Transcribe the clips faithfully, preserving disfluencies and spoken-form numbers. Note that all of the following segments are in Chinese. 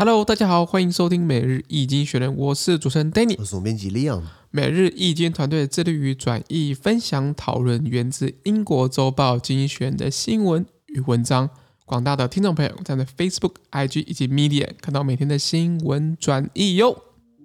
Hello， 大家好，歡迎收聽每日一經學人，我是主持人 Danny， 我是總編輯 Leon。每日一經團隊致力於轉譯、分享、討論源自英國週報《經濟學人》的新聞與文章。廣大的聽眾朋友在 Facebook、I G 以及 Medium 看到每天的新聞轉譯喲。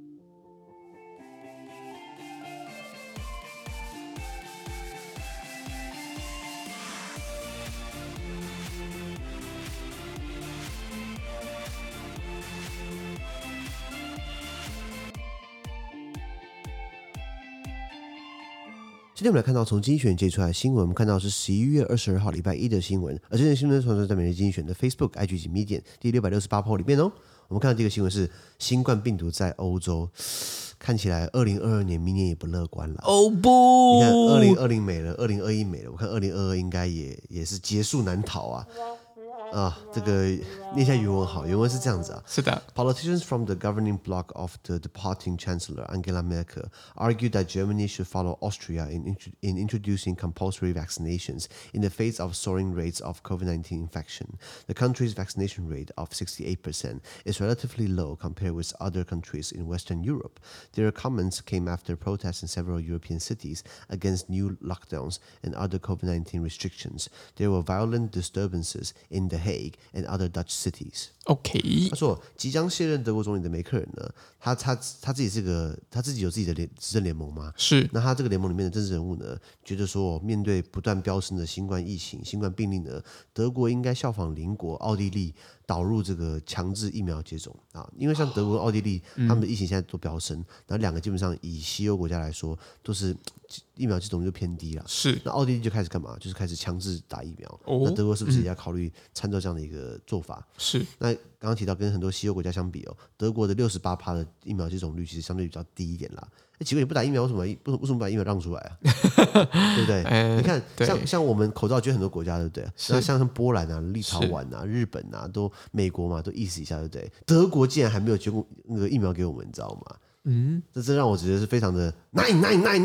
今天我們來看到從經濟學人接出來的新聞，我們看到是十一月二十二號禮拜一的新聞，而這件新聞傳送在每日經濟學人的 Facebook、I G 及 Medium 第六百六十八 po 裡面哦。我們看到這個新聞是新冠病毒在歐洲，看起來二零二二年明年也不樂觀了。 哦不， 你看二零二零沒了，二零二一沒了，我看二零二二應該也也是結束難逃啊。啊，這個念一下原文好，原文是這樣子啊。 是的。 Politicians from the governing bloc of the departing Chancellor Angela Merkel argued that Germany should follow Austria in, in introducing compulsory vaccinations in the face of soaring rates of COVID nineteen infection. The country's vaccination rate of sixty-eight percent is relatively low compared with other countries in Western Europe. Their comments came after protests in several European cities against new lockdowns and other COVID nineteen restrictions. There were violent disturbances in the Hague and other Dutch cities. 他說，即將卸任德國總理的梅克爾呢，他他他自己是個，他自己有自己的聯執政聯盟嗎？ 是。 那他這個聯盟裡面的政治人物呢，覺得說，面對不斷飆升的新冠疫情、新冠病例呢，德國應該效仿鄰國奧地利，導入這個強制疫苗接種啊。因為像德國、奧地利，他們的疫情現在都飆升，然後兩個基本上以西歐國家來說，都是疫苗接種率就偏低了。 是。 那奧地利就開始幹嘛？就是開始強制打疫苗。 哦。 那德國是不是也要考慮參照這樣的一個做法？ 是。那剛剛提到跟很多西歐國家相比哦，德國的六十八趴的疫苗接種率其實相對比較低一點啦。那奇怪，你不打疫苗，為什麼為什麼為什麼把疫苗讓出來啊？對不對？欸、你看，像像我們口罩就很多國家，對不對？那像像波蘭啊、立陶宛啊、日本啊，都美國嘛，都意思一下，對不對？德國竟然還沒有捐過那個疫苗給我們，你知道嗎？嗯，這這讓我覺得是非常的 nine nine nine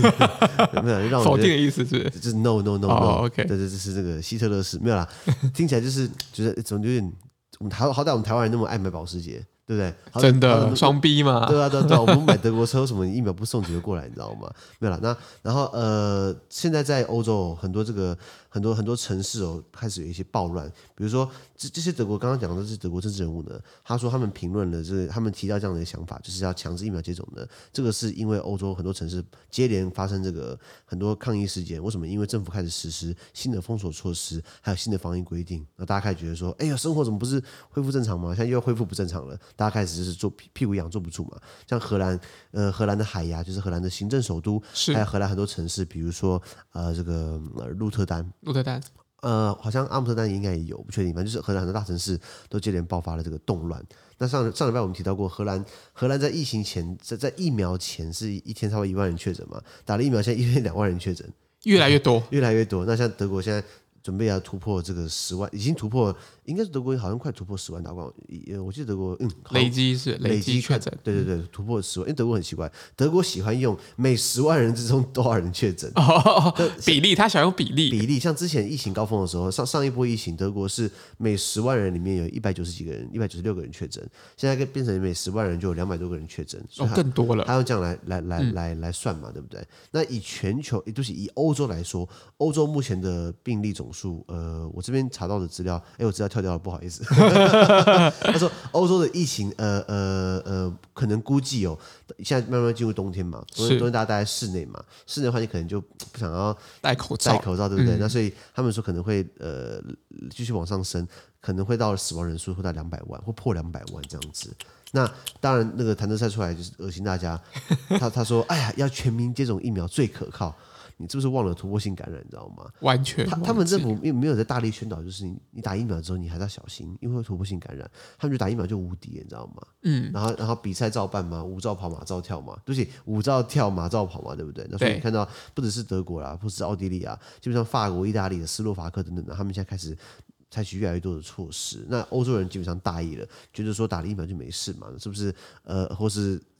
nine， 沒有讓我否定的意思是， 就是 no no no no，、 oh, OK， 對對，這是這個希特勒式，沒有啦，聽起來就是覺得怎麼有點，我們好好歹我們台灣人那麼愛買保時捷。對不對？ 真的雙逼嘛？ 對啊，對啊，對啊！我們買德國車，什麼疫苗不送幾個過來，你知道嗎？沒有啦。那然後呃，現在在歐洲很多這個很多很多城市哦，開始有一些暴亂。比如說這這些德國剛剛講的這些德國政治人物呢，他說他們評論了這個，他們提到這樣的一個想法，就是要強制疫苗接種的。這個是因為歐洲很多城市接連發生這個很多抗議事件。為什麼？因為政府開始實施新的封鎖措施，還有新的防疫規定。那大家開始覺得說，哎呀，生活怎麼不是恢復正常嗎？現在又要恢復不正常了。大家開始就是坐屁股癢坐不住嘛，像荷蘭，呃，荷蘭的海牙就是荷蘭的行政首都，還有荷蘭很多城市，比如說呃這個呃鹿特丹， 鹿特丹， 呃好像阿姆斯特丹應該也有，不確定，反正就是荷蘭很多大城市都接連爆發了這個動亂。那上上禮拜我們提到過，荷蘭荷蘭在疫情前，在在疫苗前是一天差不多一萬人確診嘛，打了疫苗現在一天兩萬人確診， 越來越多， 越來越多。那像德國現在準備要突破這個十萬，已經突破，應該是德國好像快突破十萬大關。我記得德國嗯， 累積是累積確診， 對對對，突破十萬。因為德國很奇怪，德國喜歡用每十萬人之中多少人確診哦，比例，他想用比例比例。像之前疫情高峰的時候，上上一波疫情，德國是每十萬人裡面有一百九十幾個人，一百九十六個人確診。現在變成每十萬人就有兩百多個人確診， 哦，更多了。 他用這樣來來來來來算嘛，對不對？那以全球，也就是以歐洲來說，歐洲目前的病例總數，呃。我這邊查到的資料，哎，我資料跳掉了，不好意思。他說，歐洲的疫情，呃呃呃，可能估計哦，現在慢慢進入冬天嘛，冬天大家待在室內嘛，室內的話你可能就不想要戴口罩， 戴口罩，對不對？ 嗯、 那所以他們說可能會呃繼續往上升，可能會到死亡人數會到兩百萬，或破兩百萬這樣子。那當然，那個譚德塞出來就是惡心大家，他他說，哎呀，要全民接種疫苗最可靠。你是不是忘了突破性感染？你知道嗎？ 完全他他們政府沒有在大力宣導，就是你你打疫苗之後你還是要小心，因為會突破性感染。他們就打疫苗就無敵，你知道嗎？嗯。然後然後比賽照辦嘛，舞照跑馬照跳嘛，對不起，舞照跳馬照跑嘛，對不對？那所以你看到不只是德國啦，不只是奧地利啊，基本上法國、意大利的斯洛伐克等等的，他們現在開始採取越來越多的措施。那歐洲人基本上大意了，覺得說打了疫苗就沒事嘛，是不是？呃，或是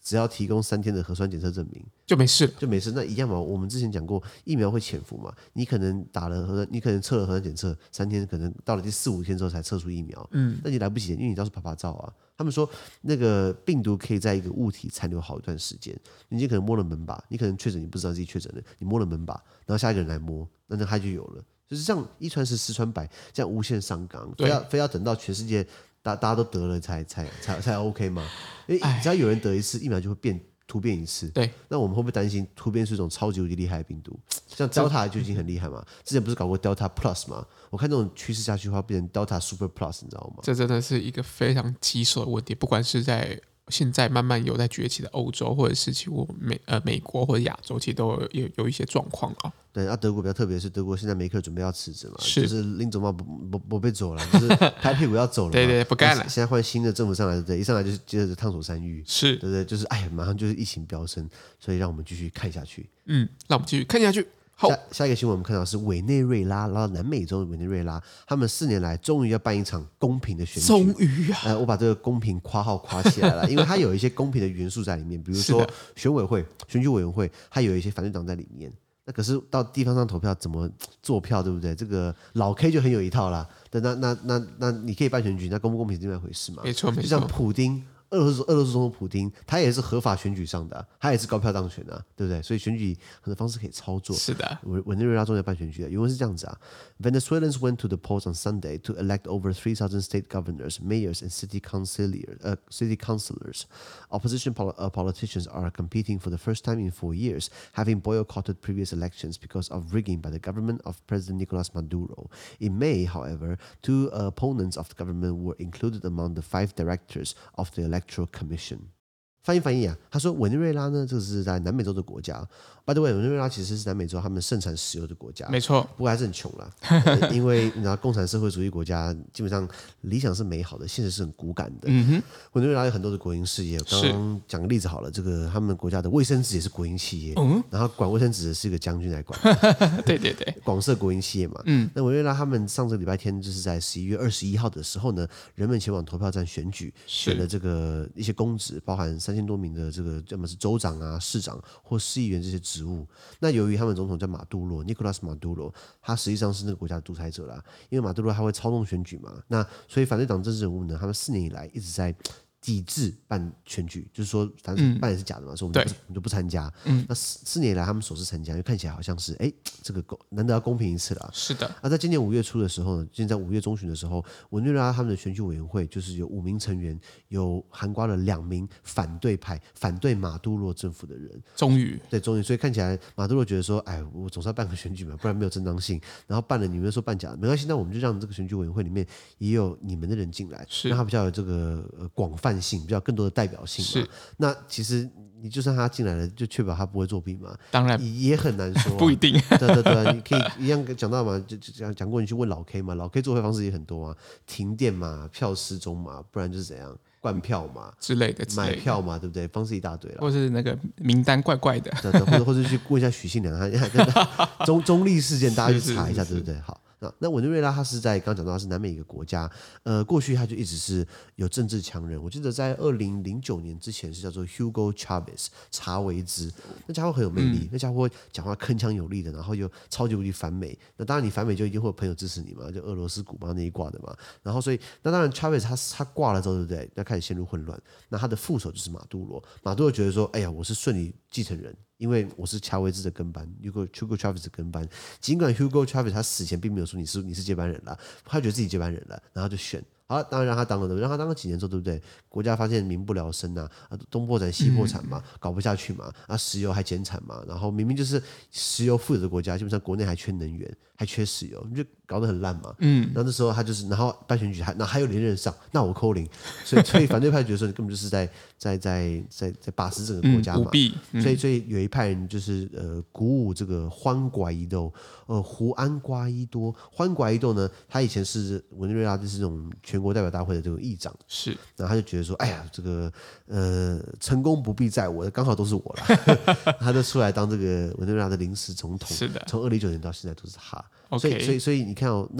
只要提供三天的核酸檢測證明就沒事了， 就沒事。那一樣嘛，我們之前講過，疫苗會潛伏嘛，你可能打了核酸，你可能測了核酸檢測三天，可能到了第四五天之後才測出疫苗，嗯，那你來不及，因為你到時候趴趴照啊。他們說那個病毒可以在一個物體殘留好一段時間，你今天可能摸了門把，你可能確診，你不知道自己確診了，你摸了門把，然後下一個人來摸，那那他就有了。就是這樣一傳十，十傳百，這樣無限上綱，非要非要等到全世界大大家都得了才才才才 OK 嗎？因為只要有人得一次疫苗就會變突變一次。對，那我們會不會擔心突變是一種超級無敵厲害的病毒？像 Delta 就已經很厲害嘛，之前不是搞過 Delta Plus 嗎？我看這種趨勢下去的話，變成 Delta Super Plus， 你知道嗎？這真的是一個非常棘手的問題，不管是在現在慢慢有在崛起的歐洲，或者是其實美呃美國或者亞洲，其實都有有，有一些狀況啊。 對，啊，德國比較特別，是德國現在梅克準備要辭職嘛，是就是林總嘛不不不被走了，就是拍屁股要走了嘛，對對，不幹了。現在換新的政府上來，對不對？一上來就是接着燙手山芋，是對不對？就是哎呀，馬上就是疫情飆升，所以讓我們繼續看下去。嗯，讓我們繼續看下去。好，下下一個新聞我們看到是委內瑞拉，然後南美洲的委內瑞拉，他們四年來終於要辦一場公平的選舉。終於啊！呃，我把這個公平括號括起來了，因為它有一些公平的元素在裡面，比如說選委會、選舉委員會，它有一些反對黨在裡面。那可是到地方上投票怎麼做票，對不對？這個老 K 就很有一套啦。那那那那那你可以辦選舉，那公不公平是另外一回事嘛？沒錯沒錯。就像普丁。俄羅斯俄羅斯總統普丁，他也是合法選舉上的、啊，他也是高票當選的、啊，對不對？所以選舉很多方式可以操作。是的，委委內瑞拉終於辦選舉了，原文是這樣子啊 ：Venezuelans went to the polls on Sunday to elect over three thousand state governors, mayors, and city councilors. Uh, city councilors. Opposition pol- uh, politicians are competing for the first time in four years, having boycotted previous elections because of rigging by the government of President Nicolas Maduro. In May, however, two uh, opponents of the government were included among the five directors of the election.Electoral Commission 翻譯翻譯啊，他說委內瑞拉呢，這個是在南美洲的國家。By the way，委內瑞拉其實是南美洲他們盛產石油的國家，沒錯，不過還是很窮啦、呃。因為你知道，共產社會主義國家基本上理想是美好的，現實是很骨感的。嗯哼，委內瑞拉有很多的國營事業，剛剛講個例子好了，這個他們國家的衛生紙也是國營企業，嗯，然後管衛生紙的是一個將軍來管，對對對，廣設國營企業嘛。嗯，那委內瑞拉他們上個禮拜天就是在十一月二十一號的時候呢，人們前往投票站選舉，選了這個一些公職，包含三千多名的這個要麼是州長啊、市長或市議員這些職務。那由於他們總統叫馬杜羅 Nicolas Maduro， 他實際上是那個國家的獨裁者啦，因為馬杜羅他會操縱選舉嘛，那所以反對黨政治人物呢，他們四年以來一直在抵制辦選舉，就是說反正辦也是假的嘛，嗯、所以我們就不我們就不參加。嗯、那四四年以來他們首次參加，因為看起來好像是哎，這個公難得要公平一次了。是的。啊，在今年五月初的時候呢，現在五月中旬的時候，委內瑞拉他們的選舉委員會就是有五名成員，有涵蓋了兩名反對派、反對馬杜羅政府的人。終於，對，終於，所以看起來馬杜羅覺得說，哎，我總是要辦個選舉嘛，不然沒有正當性。然後辦了，你們又說辦假的，沒關係，那我們就讓這個選舉委員會裡面也有你們的人進來，是讓他比較有這個呃廣泛性，比較更多的代表性嘛。是，那其實你就算他進來了，就確保他不會作弊嘛？當然也很難說、啊，不一定。對對對，你可以一樣講到嘛，就講講過，你去問老 K 嘛，老 K 作弊方式也很多啊，停電嘛，票失蹤嘛，不然就是怎樣灌票嘛之類的，買票嘛，對不對？方式一大堆了，或是那個名單怪怪的，對對，或者或者去問一下許信良，他中中立事件，大家去查一下，對不對？好。那那委內瑞拉，它是在剛剛講到它是南美一個國家，呃，過去它就一直是有政治強人。我記得在二零零九年之前是叫做 Hugo Chavez 查維茲，那家伙很有魅力，嗯、那家伙講話鏗鏘有力的，然後又超級無敵反美。那當然你反美就一定會有朋友支持你嘛，就俄羅斯、古巴那一掛的嘛。然後所以那當然 Chavez 他他掛了之後，對不對？那開始陷入混亂。那他的副手就是馬杜羅，馬杜羅覺得說，哎呀，我是順理繼承人。因為我是查維茲的跟班 ，Hugo Hugo Chavez 的跟班。儘管 Hugo Chavez 他死前並沒有說你是你是接班人了，他覺得自己接班人了，然後就選。好，當然讓他當了，讓他當了幾年之後，對不對？國家發現民不聊生吶、啊，東破產西破產嘛，搞不下去嘛，啊，石油還減產嘛，然後明明就是石油富有的國家，基本上國內還缺能源，還缺石油，就搞得很爛嘛。嗯，然後那時候他就是，然後辦選舉還，那還有連任上，那我扣零，所以所以反對派覺得說你根本就是在在在在在把持整個國家嘛，嗯嗯、所以所以有一派人就是呃鼓舞這個歡瓜伊豆，呃胡安瓜伊多，歡瓜伊豆呢，他以前是委內瑞拉就是這種全國代表大會的這個議長，是，然後他就覺得說，哎呀，這個呃成功不必在我，剛好都是我了，他就出來當這個委內瑞拉的臨時總統，是的，從二零一九年到現在都是他，Okay. 所以所以所以你看哦，那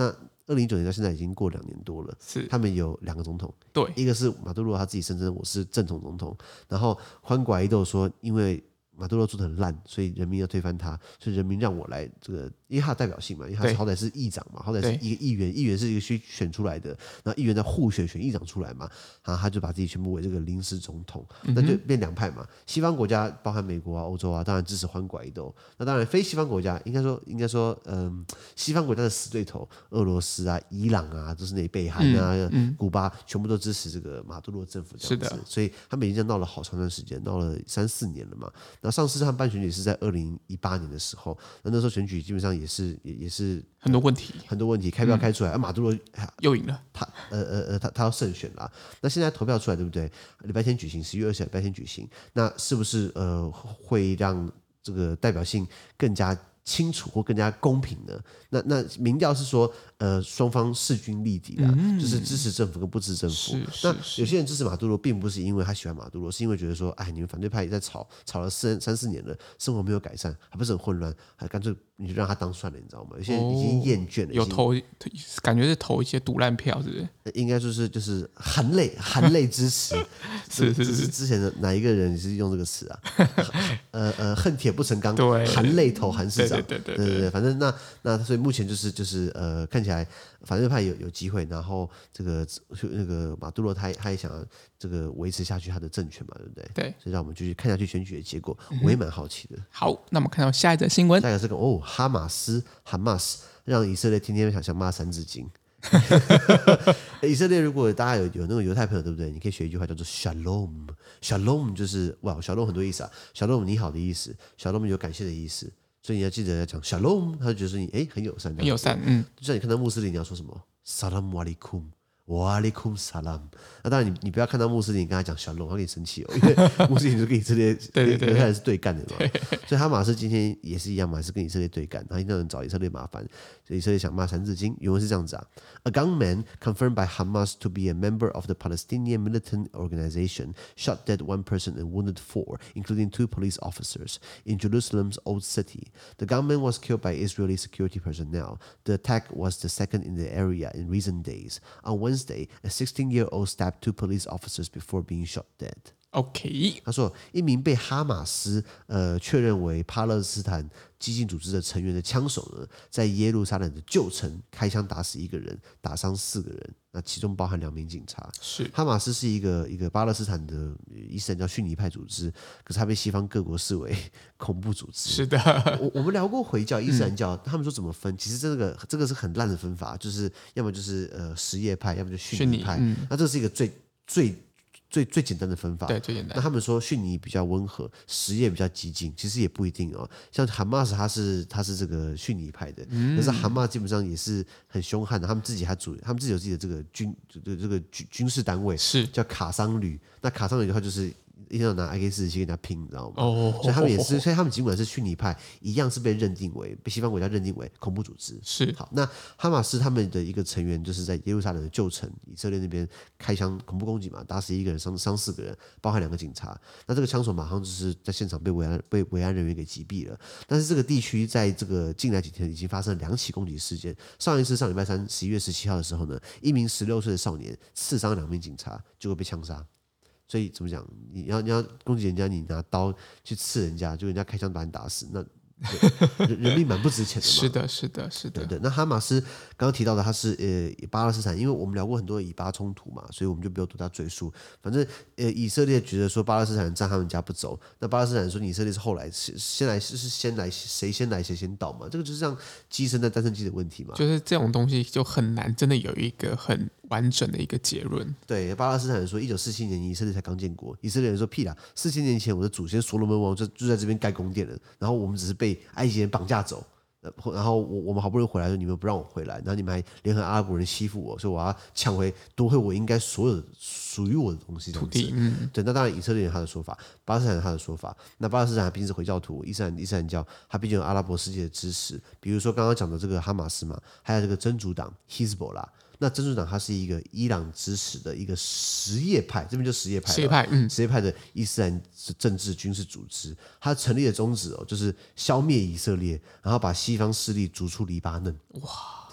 二零一九年到現在已經過兩年多了， 是他們有兩個總統， 對， 一個是馬杜羅他自己聲稱我是正統總統，然後歡瓜伊豆說因為馬杜羅做得很爛，所以人民要推翻他，所以人民讓我來這個，因為他的代表性嘛，因為他是好歹是議長嘛，好歹是一個議員，議員是一個選選出來的，然後議員在互選選議長出來嘛，然後他就把自己宣布為這個臨時總統，那就變兩派嘛。西方國家包含美國啊、歐洲啊，當然支持歡瓜伊豆，那當然非西方國家，應該說應該說，嗯，西方國家的死對頭，俄羅斯啊、伊朗啊，都是那北韓啊、嗯嗯、古巴，全部都支持這個馬杜羅政府這樣子，是的，所以他們已經鬧了好長段時間，鬧了三四年了嘛。那上次他們辦選舉是在二零一八年的時候，那那時候選舉基本上也是也也是很多問題， 很多問題，開票開出來，嗯、啊，馬杜羅又贏了， 他呃呃呃他他要勝選了。那現在投票出來對不對？禮拜天舉行，十一月二十禮拜天舉行，那是不是呃會讓這個代表性更加清楚或更加公平呢？那那民調是說，呃，雙方勢均力敵啦，嗯、就是支持政府跟不支持政府。那有些人支持馬杜羅，並不是因為他喜歡馬杜羅，是因為覺得說，哎，你們反對派也在吵，吵了四三四年了，生活沒有改善，還不是很混亂，還乾脆你就讓他當算了，你知道嗎？有些人已經厭倦了，哦、有投感覺是投一些賭爛票，是不是？ 應該就是就是含淚含淚支持。 是是是， 是之前的哪一個人是用這個詞啊？呃呃，恨鐵不成鋼， 對， 含淚投韓市長。 對對對對， 對對對，反正那那所以目前就是就是呃，看起來反對派有有機會，然後這個那個馬杜羅他他也想要這個維持下去他的政權嘛，對不對？對，所以讓我們繼續看下去選舉的結果，我也蠻好奇的。嗯、 好，那我們看到下一則新聞， 下一個是個哦，哈馬斯哈馬斯讓以色列天天想想罵三字經。以色列如果大家有有那個猶太朋友對不對？你可以學一句話叫做 Shalom，Shalom 就是哇 Shalom 很多意思啊 ，Shalom 你好的意思 ，Shalom 有感謝的意思，所以你要記得要講 Shalom，他就覺得你哎很友善，很友善，嗯， 就像你看到穆斯林你要說什麼 Salam Alaikum。哇里庫姆薩拉姆，那當然你你不要看到穆斯林跟他講小龍，他給你生氣哦，因為穆斯林就跟以色列對對猶太人是對幹的嘛，對對對，所以哈馬斯今天也是一樣嘛，是跟以色列對幹，然後一定要找以色列麻煩，所以以色列想罵三字經，原文是這樣子啊 ：A gunman confirmed by Hamas to be a member of the Palestinian militant organization shot dead one person and wounded four, including two police officers, in Jerusalem's Old City. The gunman was killed by Israeli security personnel. The attack was the second in the area in recent days. On Wednesday, a sixteen-year-old stabbed two police officers before being shot dead. OK， 他說，一名被哈馬斯呃確認為巴勒斯坦激進組織的成員的槍手呢，在耶路撒冷的舊城開槍打死一個人，打傷四個人，那其中包含兩名警察。是哈馬斯是一個一個巴勒斯坦的伊斯蘭教遜尼派組織，可是他被西方各國視為恐怖組織。是的，我我們聊過回教、伊斯蘭教，嗯、他們說怎麼分？其實這個這個是很爛的分法，就是要麼就是呃什葉派，要麼就遜尼派。嗯、那這是一個最最。最最簡單的分法，對，最簡單。那他們說遜尼比較溫和，什葉比較激進，其實也不一定哦。像哈馬斯，他是他是這個遜尼派的，嗯、但是哈馬斯基本上也是很兇悍的。他們自己還組，他們自己有自己的這個軍這個這個軍軍事單位，是叫卡桑旅。那卡桑旅的話就是。一定要拿 A K 四十七跟他拼，你知道嗎？哦，所以他們也是，所以他們儘管是遜尼派，一樣是被認定為被西方國家認定為恐怖組織。是好，那哈馬斯他們的一個成員就是在耶路撒冷的舊城以色列那邊開槍恐怖攻擊嘛，打死一個人，傷傷四個人，包含兩個警察。那這個槍手馬上就是在現場被維安被維安人員給擊斃了。但是這個地區在這個近來幾天已經發生了兩起攻擊事件。上一次上禮拜三十一月十七號的時候呢，一名十六歲的少年刺傷兩名警察，結果被槍殺。所以怎麼講？你要你要攻擊人家，你拿刀去刺人家，就人家開槍把你打死，那人人命蠻不值錢的嘛。是的，是的，是的。對對。那哈馬斯剛剛提到的，他是呃巴勒斯坦，因為我們聊過很多以巴衝突嘛，所以我們就不用對他贅述。反正呃以色列覺得說巴勒斯坦人占他們家不走，那巴勒斯坦人說以色列是後來先來是是先來誰先來誰先到嘛，這個就是像雞生蛋蛋生雞的問題嘛。就是這種東西就很難真的有一個很完整的一個結論。對，巴勒斯坦人說一九四七年以色列才剛建國，以色列人說屁啦，四千年前我的祖先所羅門王就就在這邊蓋宮殿了，然後我們只是被埃及人綁架走，然後我我們好不容易回來，你們不讓我回來，然後你們還聯合阿拉伯人欺負我，所以我要搶回奪回我應該所有屬於我的東西，土地。嗯，對，那當然以色列人他的說法，巴勒斯坦人他的說法，那巴勒斯坦畢竟是回教徒，伊斯蘭伊斯蘭教，他畢竟有阿拉伯世界的支持，比如說剛剛講的這個哈馬斯嘛，還有這個真主黨 Hezbollah。那真主黨它是一個伊朗支持的一個什葉派，這邊就什葉派，什葉派，嗯，什葉派的伊斯蘭政治軍事組織，它成立的宗旨哦，就是消滅以色列，然後把西方勢力逐出黎巴嫩。哇！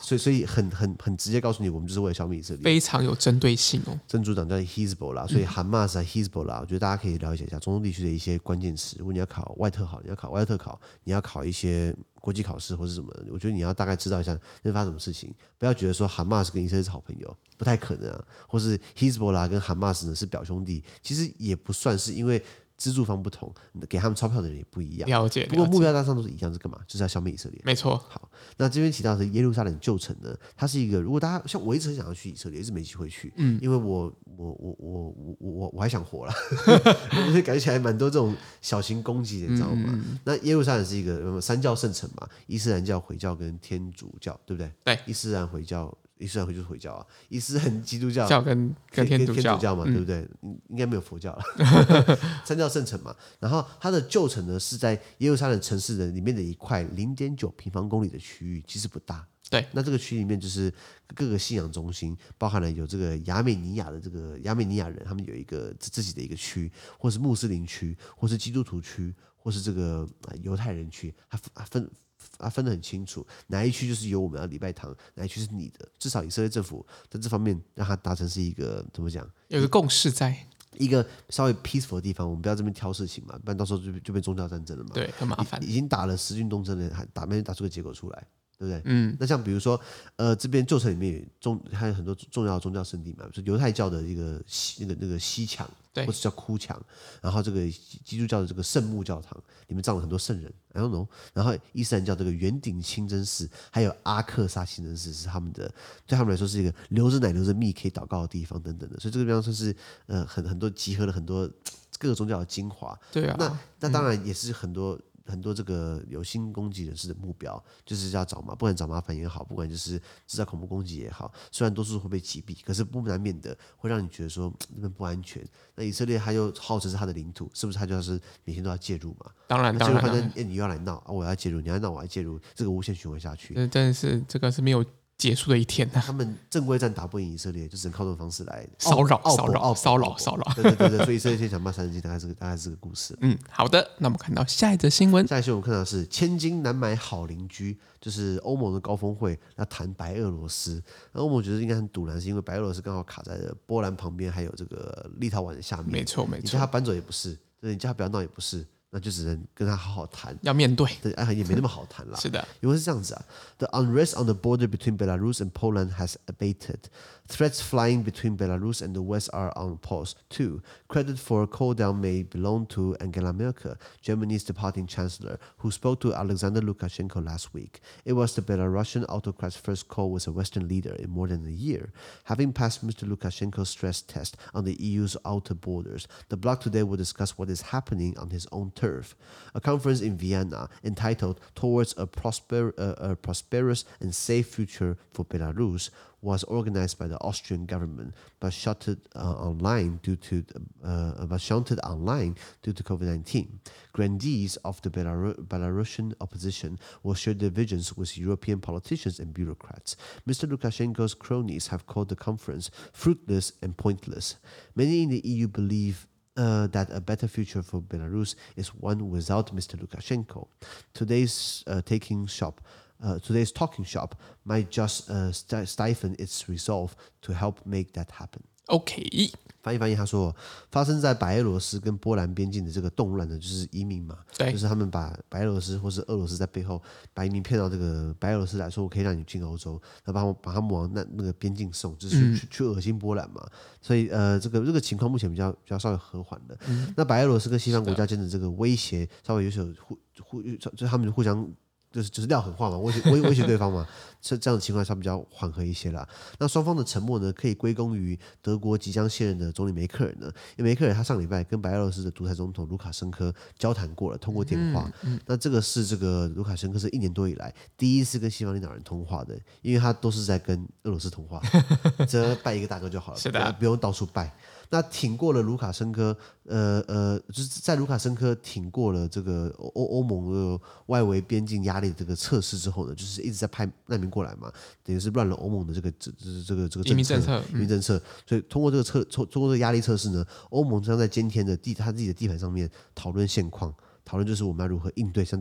所以所以很很很直接告訴你，我們就是為了消滅以色列， 非常有針對性哦。 真主黨叫 Hezbollah， 所以 Hamas 啊 Hezbollah，我覺得大家可以了解一下中東地區的一些關鍵詞。如果你要考外特考，你要考外特考，你要考一些國際考試或是什麼，我覺得你要大概知道一下那發生什麼事情，不要覺得說 Hamas 跟以色列是好朋友，不太可能啊，或是 Hezbollah 跟 Hamas 呢是表兄弟，其實也不算是，因為資助方不同，給他們鈔票的人也不一樣。 了解， 不過目標大上都是一樣，是幹嘛？就是要消滅以色列。 沒錯。好， 那這邊提到的耶路撒冷舊城呢，它是一個，如果大家像我一直很想要去以色列，一直沒機會去，嗯，因為我我我我我我我還想活啦，所以感覺起來蠻多這種小型攻擊的，你知道嗎？嗯嗯，那耶路撒冷是一個三教聖城嘛，伊斯蘭教、回教跟天主教，對不對？ 對， 伊斯蘭回教。伊斯蘭回就是回教啊，伊斯蘭基督教教跟跟天主教， 天主教嘛， 嗯、 對不對？應該沒有佛教了，三教聖城嘛。然後它的舊城呢是在耶路撒冷城市的裡面的一塊零點九平方公里的區域，其實不大。 對， 那這個區裡面就是各個信仰中心，包含了有這個亞美尼亞的這個亞美尼亞人，他們有一個自己的一個區，或是穆斯林區，或是基督徒區，或是這個猶太人區，它分。啊，分得很清楚，哪一區就是由我們要禮拜堂，哪一區是你的。至少以色列政府在這方面讓它達成是一個怎麼講？ 有個共識在， 一個稍微 peaceful 的地方，我們不要這邊挑事情嘛，不然到時候就就變宗教戰爭了嘛。 對，很麻煩。 已經打了十軍東征了，還打沒打出個結果出來。對不對？ 嗯， 那像比如說，呃，這邊舊城裡面有重還有很多重要的宗教聖地嘛，比如說猶太教的一個西那個那個西牆，或者叫哭牆，然後這個基督教的這個聖墓教堂裡面葬了很多聖人 ，I don't know。然後伊斯蘭教這個圓頂清真寺，還有阿克薩清真寺是他們的，對他們來說是一個流着奶流着蜜可以禱告的地方等等的，所以這個地方算是呃很很多集合了很多各個宗教的精華。 對啊， 那那當然也是很多。嗯很多這個有心攻擊人士的目標，就是要找麻，不管找麻煩也好，不管就是製造恐怖攻擊也好，雖然多數會被擊斃，可是不難免的會讓你覺得說那邊不安全。那以色列他又號稱是他的領土，是不是他就是每天都要介入嘛？ 當然，當然， 反正你又要來鬧啊，我要介入，你要鬧我要介入，這個無限循環下去。 真的是這個是沒有結束的一天吶、啊！ 他們正規戰打不贏以色列，就只能靠這種方式來騷擾、騷擾、騷擾、騷擾。 對對對對，所以以色列先想罵三十斤，大概是個大概是個故事。 嗯，好的。那我們看到下一則新聞， 下一則新聞我們看到的是千金難買好鄰居，就是歐盟的高峰會要談白俄羅斯。那歐盟覺得應該很賭爛，是因為白俄羅斯剛好卡在了波蘭旁邊，還有這個立陶宛的下面。 沒錯沒錯， 你叫他搬走也不是，你叫他不要鬧也不是。那就只能跟他好好談， 要面對， 對，哎，也沒那麼好談啦。 是的， 因為是這樣子啊 ，The unrest on the border between Belarus and Poland has abated. Threats flying between Belarus and the West are on pause too. Credit for a cool down may belong to Angela Merkel, Germany's departing chancellor, who spoke to Alexander Lukashenko last week. It was the Belarusian autocrat's first call with a Western leader in more than a year. Having passed Mister Lukashenko's stress test on the E U's outer borders, the bloc today will discuss what is happening on his own turf. A conference in Vienna entitled Towards a, Prosper, uh, a Prosperous and Safe Future for Belarus was organized by the Austrian government, but shuttered uh, online due to uh, but shunted online due to COVID nineteen. Grandees of the Belarus, Belarusian opposition will share their visions with European politicians and bureaucrats. Mister Lukashenko's cronies have called the conference fruitless and pointless. Many in the E U believe Uh, that a better future for Belarus is one without Mister Lukashenko. Today's uh, taking shop, uh, today's talking shop might just uh, st- stifle its resolve to help make that happen. OK， 翻譯翻譯，他說，發生在白俄羅斯跟波蘭邊境的這個動亂呢，就是移民嘛， 對， 就是他們把白俄羅斯或是俄羅斯在背後把移民騙到這個白俄羅斯來說，我可以讓你進歐洲，那把他們把他們往那那個邊境送，就是去、嗯、去去惡心波蘭嘛。所以呃，這個這個情況目前比較比較稍微和緩了。嗯、那白俄羅斯跟西方國家間的這個威脅稍微有所互互，就他們互相。就是就是撂狠話嘛，威脅威威脅對方嘛，這這樣的情況下比較緩和一些啦。那雙方的沉默呢，可以歸功於德國即將卸任的總理梅克爾呢，因為梅克爾他上禮拜跟白俄羅斯的獨裁總統盧卡申科交談過了，通過電話。嗯嗯、那這個是這個盧卡申科是一年多以來第一次跟西方領導人通話的，因為他都是在跟俄羅斯通話，只拜一個大哥就好了，是的，不用到處拜。那挺過了盧卡申科，呃呃，就是在盧卡申科挺過了這個歐歐盟的外圍邊境壓力的這個測試之後呢，就是一直在派難民過來嘛，等於是亂了歐盟的這個這這個這個移民政策， 移民政策。所以通過這個測，通過這個壓力測試呢，歐盟將在今天的地他自己的地盤上面討論現況，討論就是我們要如何應對像這樣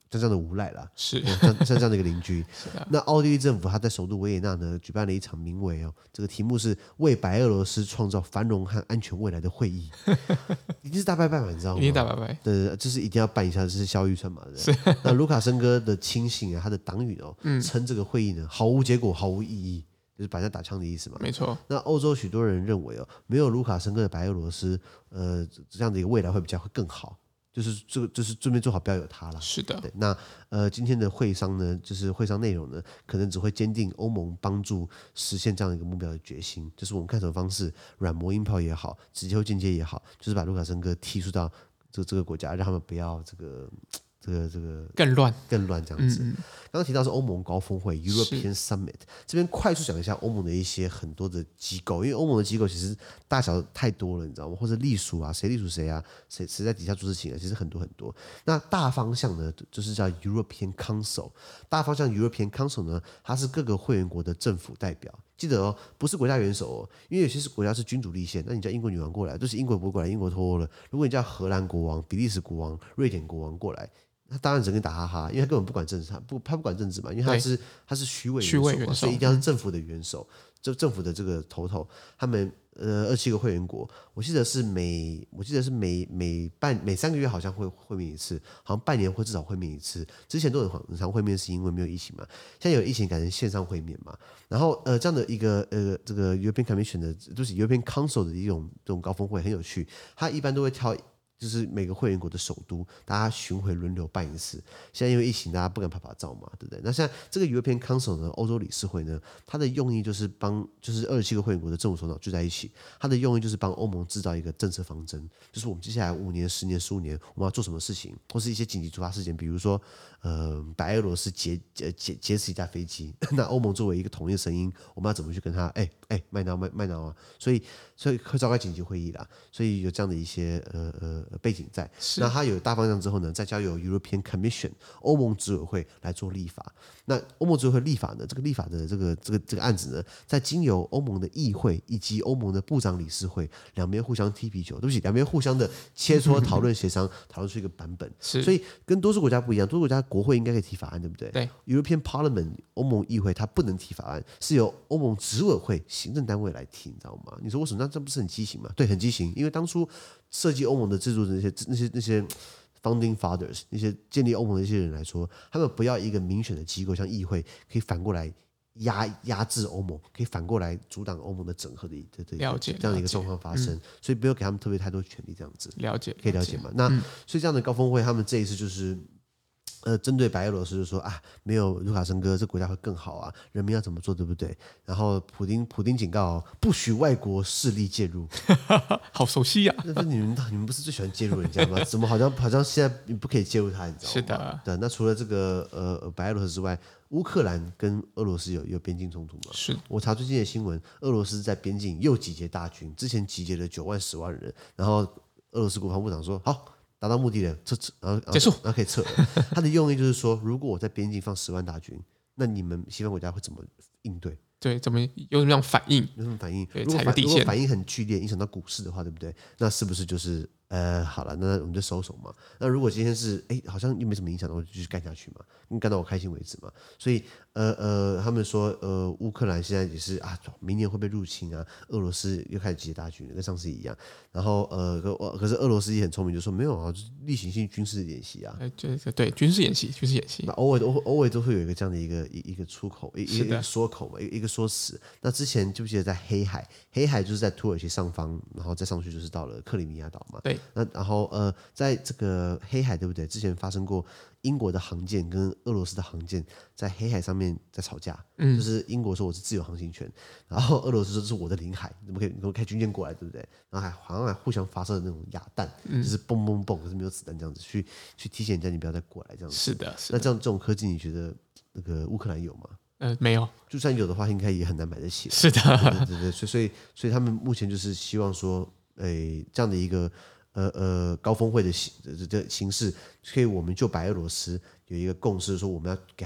像這樣的無賴啦， 是像像這樣的一個鄰居。 啊、 那奧地利政府他在首都維也納呢舉辦了一場名為哦，這個題目是為白俄羅斯創造繁榮和安全未來的會議，一定是大拜拜嘛，你知道嗎？ 一定大拜拜， 對對，這是一定要辦一下，這是消預算嘛，對不對？那盧卡申科的親信啊，他的黨羽哦，嗯、稱這個會議呢毫無結果，毫無意義。就是把人家打槍的意思嘛， 沒錯。那歐洲許多人認為哦，沒有盧卡申科的白俄羅斯，呃，這樣的一個未來會比較會更好。就是這個，就是順便做好，不要有他了。 是的。 對，那呃，今天的會商呢，就是會商內容呢，可能只會堅定歐盟幫助實現這樣一個目標的決心。就是我們看什麼方式，軟磨硬泡也好，直接或間接也好，就是把盧卡申科踢出到這個這個國家，讓他們不要這個。這個這個更亂更亂這樣子。 嗯嗯剛剛提到是歐盟高峰會 European Summit，這邊快速講一下歐盟的一些很多的機構，因為歐盟的機構其實大小太多了，你知道嗎？或者隸屬啊，誰隸屬誰啊，誰誰在底下做事情啊，其實很多很多。那大方向呢，就是叫 European Council。大方向 European Council 呢，它是各個會員國的政府代表。記得哦，不是國家元首哦，因為有些國家是君主立憲，那你叫英國女王過來，就是英國不會過來，英國脫歐了。如果你叫荷蘭國王、比利時國王、瑞典國王過來。他當然只跟你打哈哈，因為他根本不管政治，他不他不管政治嘛，因為他是他是虛位元首嘛，元首所以一定要是政府的元首，就政府的這個頭頭。他們呃二七個會員國，我記得是每我記得是每每半每三個月好像會會面一次，好像半年會至少會面一次。之前都很很常會面，是因為沒有疫情嘛，現在有疫情改成線上會面嘛。然後呃這樣的一個呃這個 European Commission 的，就是 European Council 的一種這種高峰會很有趣，他一般都會挑。就是每個會員國的首都，大家巡迴輪流辦一次。現在因為疫情，大家不敢拍拍照嘛，對不對？那現在這個 European Council 呢，歐洲理事會呢，它的用意就是幫，就是二十七個會員國的政府首腦聚在一起，它的用意就是幫歐盟制造一個政策方針，就是我們接下來五年、十年、十五年，我們要做什麼事情，或是一些緊急突發事件，比如說，呃，白俄羅斯劫劫劫劫持一架飛機，那歐盟作為一個統一的聲音，我們要怎麼去跟他？哎哎，麥鬧麥麥鬧啊！所以所以會召開緊急會議啦，所以有這樣的一些呃呃。背景在，那它有大方向之後呢，再交由 European Commission 歐盟執委會來做立法。那歐盟執委會立法呢，這個立法的這個這個這個案子呢，在經由歐盟的議會以及歐盟的部長理事會兩邊互相踢皮球，對不起，兩邊互相的切磋、討論、協商，討論出一個版本。 是， 所以跟多數國家不一樣，多數國家國會應該可以提法案，對不對？ 對 ，European Parliament 歐盟議會它不能提法案，是由歐盟執委會行政單位來提，你知道嗎？你說為什麼？那這不是很畸形嗎？對，很畸形，因為當初。設計歐盟的制度的那些那些那些 founding fathers 那些建立歐盟的那些人來說，他們不要一個民選的機構，像議會可以反過來壓壓制歐盟，可以反過來阻擋歐盟的整合的的的了解這樣的一個狀況發生，嗯、所以不要給他們特別太多權力，這樣子了解可以了解嗎？那、嗯、所以這樣的高峰會，他們這一次就是。呃，針對白俄羅斯就說啊，沒有盧卡申科，這國家會更好啊，人民要怎麼做，對不對？然後普丁普丁警告、哦，不許外國勢力介入， 好熟悉呀、啊！ 那你們你們不是最喜歡介入人家嗎？怎麼好像好像現在你不可以介入他，你知道嗎？ 是的， 對。那除了這個呃白俄羅斯之外，烏克蘭跟俄羅斯有有邊境衝突嗎？ 是。我查最近的新聞，俄羅斯在邊境又集結大軍，之前集結了九萬十萬人，然後俄羅斯國防部長說好。達到目的了，撤撤，然後結束，然後可以撤了。他的用意就是說，如果我在邊境放十萬大軍，那你們西方國家會怎麼應對？ 對，怎麼有什麼樣反應？ 有什麼反應？ 對， 如果踩個底線。 如果反應很劇烈，影響到股市的話，對不對？那是不是就是呃，好了，那我們就收手嘛。那如果今天是哎，好像又沒什麼影響，那我就繼續幹下去嘛，幹到我開心為止嘛。所以呃呃，他們說呃，烏克蘭現在也是啊，明年會被入侵啊，俄羅斯又開始集結大軍了，跟上次一樣。然後呃，可可是俄羅斯也很聰明，就說沒有啊，就是例行性軍事演習啊。 哎，對對，軍事演習，軍事演習。 那偶爾都偶爾都會有一個這樣的一個一一個出口，一一個說口嘛，一一個說辭。那之前記不記得在黑海？黑海就是在土耳其上方，然後再上去就是到了克里米亞島嘛。 對。 那然後呃，在這個黑海對不對？之前發生過英國的航艦跟俄羅斯的航艦在黑海上面在吵架。嗯。就是英國說我是自由航行權，然後俄羅斯說這是我的領海，怎麼可以怎麼開軍艦過來，對不對？然後還好像還互相發射的那種啞彈，嗯、就是嘣嘣嘣，可是沒有子彈這樣子去去提醒人家你不要再過來這樣子。 是的。是的。 那這樣這種科技，你覺得那個烏克蘭有嗎？ 呃，沒有，就算有的話，應該也很難買得起。 是的， 對對對，所以所以所以他們目前就是希望說，誒，這樣的一個呃呃高峰會的形這這形式，可以我們就白俄羅斯有一個共識，說我們要給他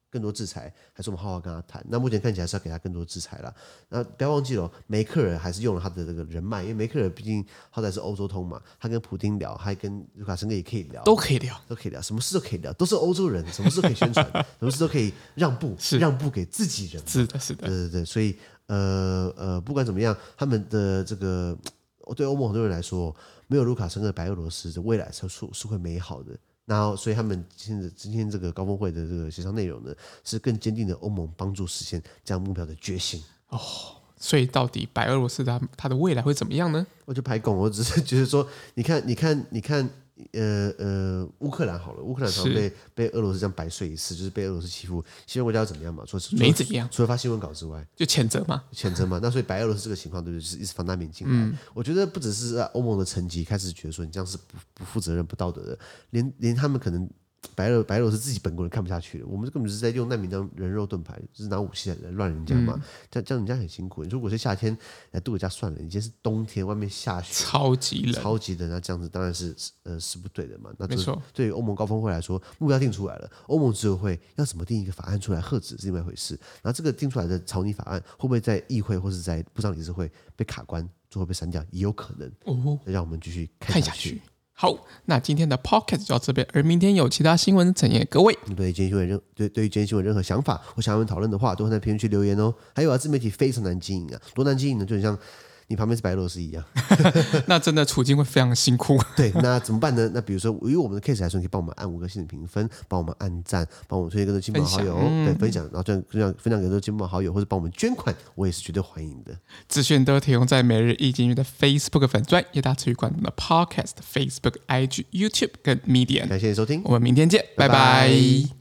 更多制裁，還是我們好好跟他談？那目前看起來是要給他更多制裁了。那不要忘記了，梅克爾還是用了他的這個人脈，因為梅克爾畢竟好歹是歐洲通嘛，他跟普丁聊，還跟盧卡申科也可以聊， 都可以聊， 都可以聊，什麼事都可以聊，都是歐洲人，什麼事都可以宣傳，什麼事都可以讓步，讓步給自己人。 是的，是的， 對對對，所以呃呃，不管怎麼樣，他們的這個對歐盟很多人來說，沒有盧卡申科的白俄羅斯的未來是是會美好的。然後，所以他們今天今天這個高峰會的這個協商內容呢，是更堅定的歐盟幫助實現這樣目標的決心。 哦，所以到底白俄羅斯它它的未來會怎麼樣呢？ 我就排拱，我只是覺得說，你看，你看，你看。呃呃，烏克蘭好了，烏克蘭常被被俄羅斯這樣百歲一次，就是被俄羅斯欺負。西方國家要怎麼樣嘛？除了沒怎麼樣， 除了發新聞稿之外， 就譴責嘛， 譴責嘛。那所以白俄羅斯這個情況，對不對？就是一直放大免進來。嗯、我覺得不只是歐盟的層級開始覺得說你這樣是不不負責任、不道德的，連連他們可能。白俄白俄羅斯自己本國人看不下去了，我們根本就是在用難民當人肉盾牌，就是拿武器來亂人家嘛，嗯、這樣這樣人家很辛苦。你說如果是夏天來度個假算了，你今天是冬天，外面下雪， 超級冷，超級冷，那這樣子當然是呃是不對的嘛。那沒錯， 對於歐盟高峰會來說，目標定出來了，歐盟執委會要怎麼定一個法案出來遏止是另外一回事。然後這個定出來的草擬法案會不會在議會或是在部長理事會被卡關，最後被刪掉，也有可能。哦，讓我們繼續看下去。 好，那今天的 podcast 就到這邊，而明天有其他新聞呈現各位。 對今天新聞任對對於今天新聞任何想法或想要我們討論的話，都會在評論區留言哦。還有啊，自媒體非常難經營啊，多難經營呢，就很像你旁邊是白俄羅斯一樣， 那真的處境會非常辛苦。 對，那怎麼辦呢？那比如說，以我們的 case 來說，你可以幫我們按五顆星的評分，幫我們按讚，幫我們推薦給親朋好友，嗯、對，分享，然後這樣分享分享給親朋好友，或者幫我們捐款，我也是絕對歡迎的。 資訊都提供在每日一經濟的 Facebook 粉專，也大家持續關注的 Podcast、Facebook、I G、YouTube 跟 Medium。 感謝你收聽， 我們明天見，拜拜。拜拜。